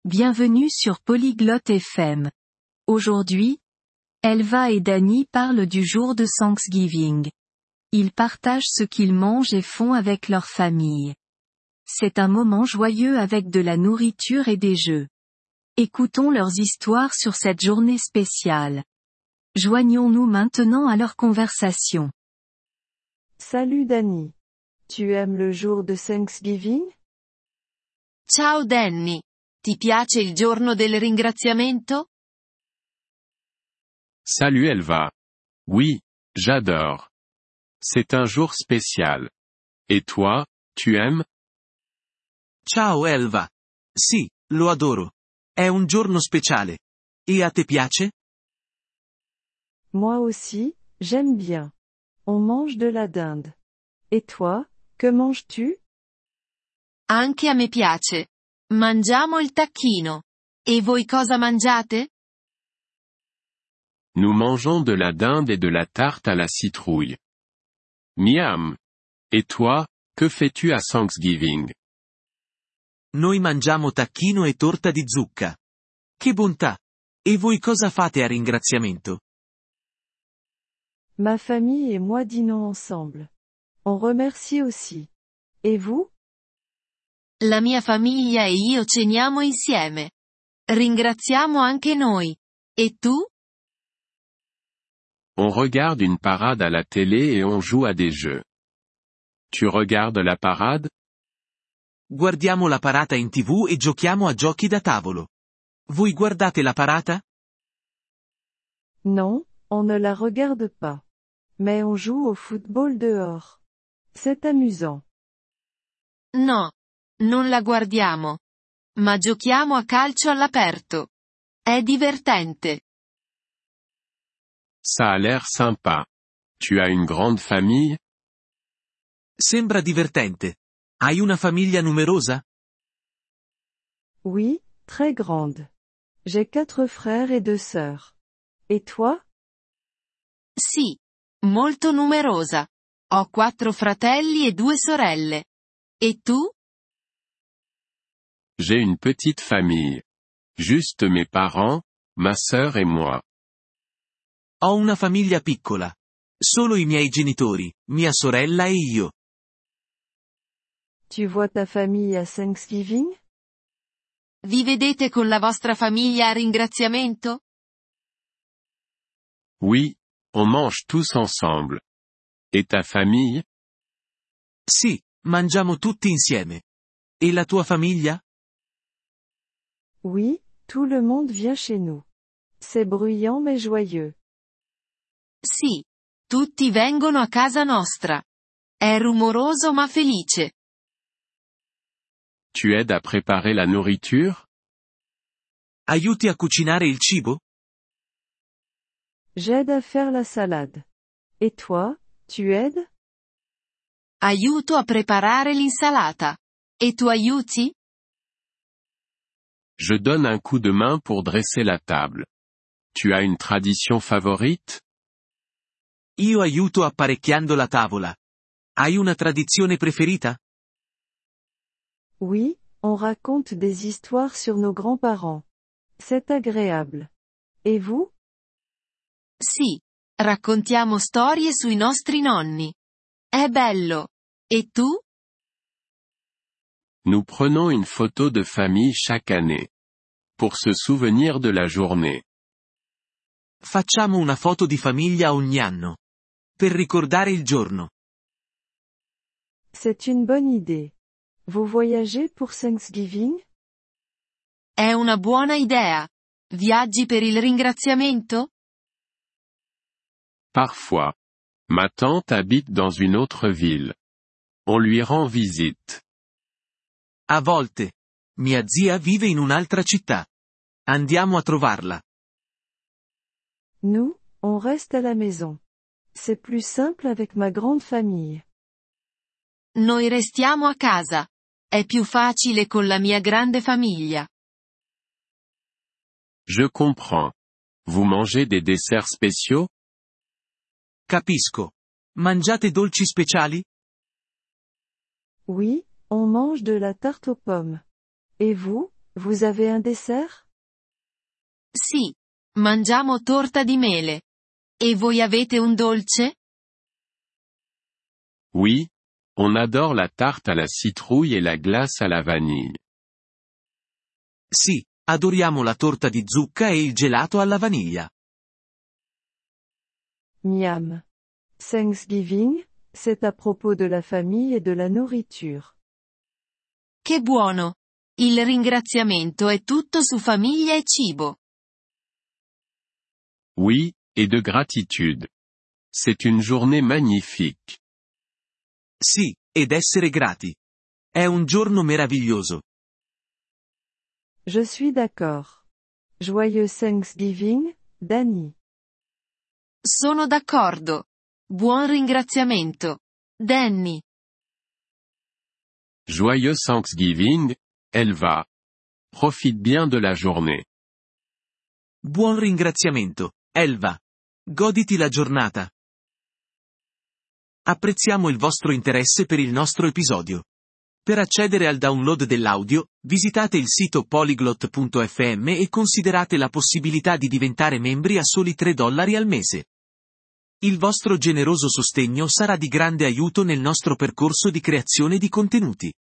Bienvenue sur Polyglotte FM. Aujourd'hui, Elva et Danny parlent du jour de Thanksgiving. Ils partagent ce qu'ils mangent et font avec leur famille. C'est un moment joyeux avec de la nourriture et des jeux. Écoutons leurs histoires sur cette journée spéciale. Joignons-nous maintenant à leur conversation. Salut Danny. Tu aimes le jour de Thanksgiving? Ciao Danny. Ti piace il giorno del ringraziamento? Salut Elva. Oui, j'adore. C'est un jour spécial. Et toi, tu aimes? Ciao Elva. Sì, lo adoro. È un giorno speciale. E a te piace? Moi aussi, j'aime bien. On mange de la dinde. Et toi, que manges-tu? Anche a me piace. Mangiamo il tacchino. E voi cosa mangiate? Nous mangeons de la dinde et de la tarte à la citrouille. Miam. Et toi, que fais-tu à Thanksgiving? Noi mangiamo tacchino e torta di zucca. Che bontà! E voi cosa fate a ringraziamento? Ma famille et moi dînons ensemble. On remercie aussi. Et vous? La mia famiglia e io ceniamo insieme. Ringraziamo anche noi. E tu? On regarde une parade à la télé et on joue à des jeux. Tu regardes la parade? Guardiamo la parata in TV e giochiamo a giochi da tavolo. Voi guardate la parata? Non, on ne la regarde pas. Mais on joue au football dehors. C'est amusant. No. Non la guardiamo. Ma giochiamo a calcio all'aperto. È divertente. Ça a l'air sympa. Tu as une grande famille? Sembra divertente. Hai una famiglia numerosa? Oui, très grande. J'ai 4 frères et 2 sœurs. Et toi? Sì. Molto numerosa. Ho 4 fratelli e 2 sorelle. E tu? J'ai une petite famille. Juste mes parents, ma sœur et moi. Ho una famiglia piccola. Solo i miei genitori, mia sorella e io. Tu vois ta famille à Thanksgiving? Vi vedete con la vostra famiglia a ringraziamento? Oui, on mange tous ensemble. Et ta famille? Sì, mangiamo tutti insieme. E la tua famiglia? Oui, tout le monde vient chez nous. C'est bruyant mais joyeux. Sì. Tutti vengono a casa nostra. È rumoroso ma felice. Tu aides à préparer la nourriture? Aiuti a cucinare il cibo? J'aide à faire la salade. Et toi, tu aides? Aiuto a preparare l'insalata. E tu aiuti? Je donne un coup de main pour dresser la table. Tu as une tradition favorite? Io aiuto apparecchiando la tavola. Hai una tradizione preferita? Oui, on raconte des histoires sur nos grands-parents. C'est agréable. Et vous? Sì. Raccontiamo storie sui nostri nonni. È bello. E tu? Nous prenons une photo de famille chaque année. Pour se souvenir de la journée. Facciamo una foto di famiglia ogni anno. Per ricordare il giorno. C'est une bonne idée. Vous voyagez pour Thanksgiving? È una buona idea. Viaggi per il ringraziamento? Parfois. Ma tante habite dans une autre ville. On lui rend visite. A volte. Mia zia vive in un'altra città. Andiamo a trovarla. Nous, on reste à la maison. C'est plus simple avec ma grande famille. Noi restiamo a casa. È più facile con la mia grande famiglia. Je comprends. Vous mangez des desserts spéciaux? Capisco. Mangiate dolci speciali? Oui, on mange de la tarte aux pommes. Et vous, Vous avez un dessert? Sì. Mangiamo torta di mele. E voi avete un dolce? Oui, on adore la tarte à la citrouille et la glace à la vanille. Sì, adoriamo la torta di zucca e il gelato alla vaniglia. Miam. Thanksgiving, c'est à propos de la famille et de la nourriture. Che buono! Il ringraziamento è tutto su famiglia e cibo. Oui, et de gratitude. C'est une journée magnifique. Sì, ed essere grati. È un giorno meraviglioso. Je suis d'accord. Joyeux Thanksgiving, Danny. Sono d'accordo. Buon ringraziamento. Danny. Joyeux Thanksgiving, Elva. Profite bien de la journée. Buon ringraziamento, Elva. Goditi la giornata. Apprezziamo il vostro interesse per il nostro episodio. Per accedere al download dell'audio, visitate il sito polyglot.fm e considerate la possibilità di diventare membri a soli $3 al mese. Il vostro generoso sostegno sarà di grande aiuto nel nostro percorso di creazione di contenuti.